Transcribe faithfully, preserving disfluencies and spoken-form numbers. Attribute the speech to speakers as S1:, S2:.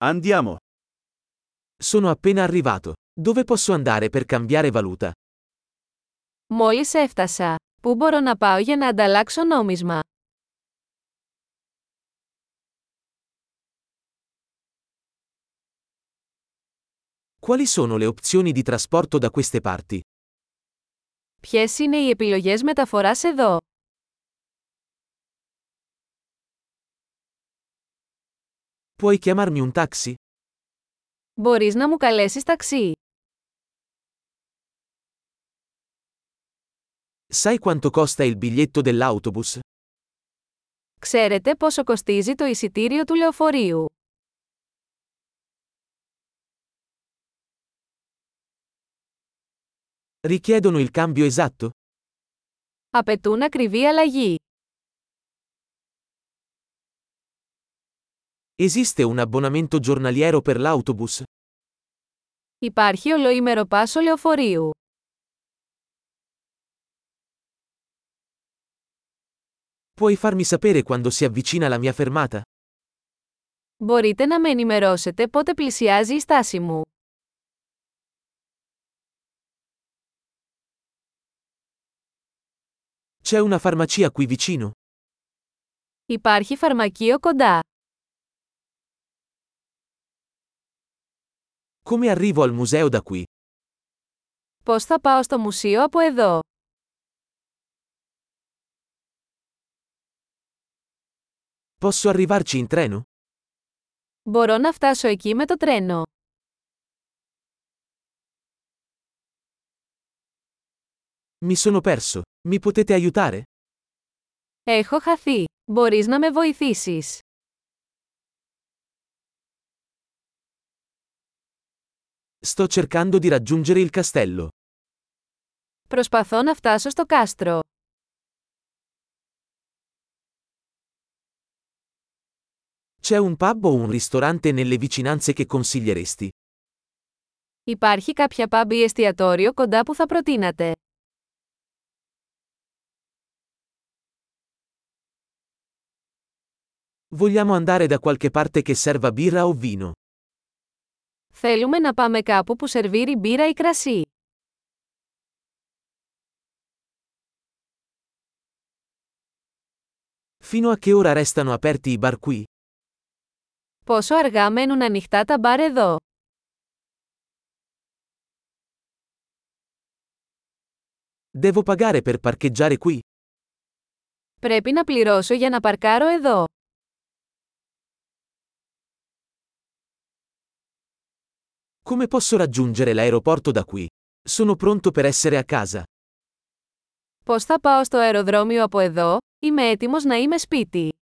S1: Andiamo.
S2: Sono appena arrivato. Dove posso andare per cambiare valuta?
S3: Μόλις έφτασα. Πού μπορώ να πάω για να ανταλλάξω νόμισμα?
S2: Quali sono le opzioni di trasporto da queste parti?
S3: Ποιες είναι οι επιλογές μεταφοράς εδώ?
S2: Puoi chiamarmi un taxi?
S3: Μπορείς να μου καλέσεις ταξί?
S2: Sai quanto costa il biglietto dell'autobus?
S3: Ξέρετε πόσο κοστίζει το εισιτήριο του λεωφορείου?
S2: Richiedono il cambio esatto?
S3: Απαιτούν ακριβή αλλαγή.
S2: Esiste un abbonamento giornaliero per l'autobus?
S3: Υπάρχει ολοήμερο πάσο λεωφορείου.
S2: Puoi farmi sapere quando si avvicina la mia fermata?
S3: Μπορείτε να με ενημερώσετε πότε πλησιάζει η στάση μου?
S2: C'è una farmacia qui vicino?
S3: Υπάρχει φαρμακείο κοντά.
S2: Come arrivo al museo da qui?
S3: Πώς θα πάω στο μουσείο από εδώ?
S2: Posso arrivarci in treno?
S3: Μπορώ να φτάσω εκεί με το τρένο.
S2: Mi sono perso. Mi potete aiutare?
S3: Έχω χαθεί. Μπορείς να με βοηθήσεις?
S2: Sto cercando di raggiungere il castello.
S3: Προσπαθώ να φτάσω στο κάστρο.
S2: C'è un pub o un ristorante nelle vicinanze che consiglieresti?
S3: Υπάρχει κάποια pub ή εστιατόριο κοντά που θα προτείνατε?
S2: Vogliamo andare da qualche parte che serva birra o vino?
S3: Θέλουμε να πάμε κάπου που σερβίρει μπύρα ή κρασί.
S2: Fino a che ora restano aperti i bar qui?
S3: Πόσο αργά μένουν ανοιχτά τα μπαρ εδώ?
S2: Devo pagare per parcheggiare qui?
S3: Πρέπει να πληρώσω για να παρκάρω εδώ.
S2: Come posso raggiungere l'aeroporto da qui? Sono pronto per essere a casa.
S3: Πώς θα πάω στο αεροδρόμιο από εδώ? Είμαι έτοιμος να είμαι σπίτι.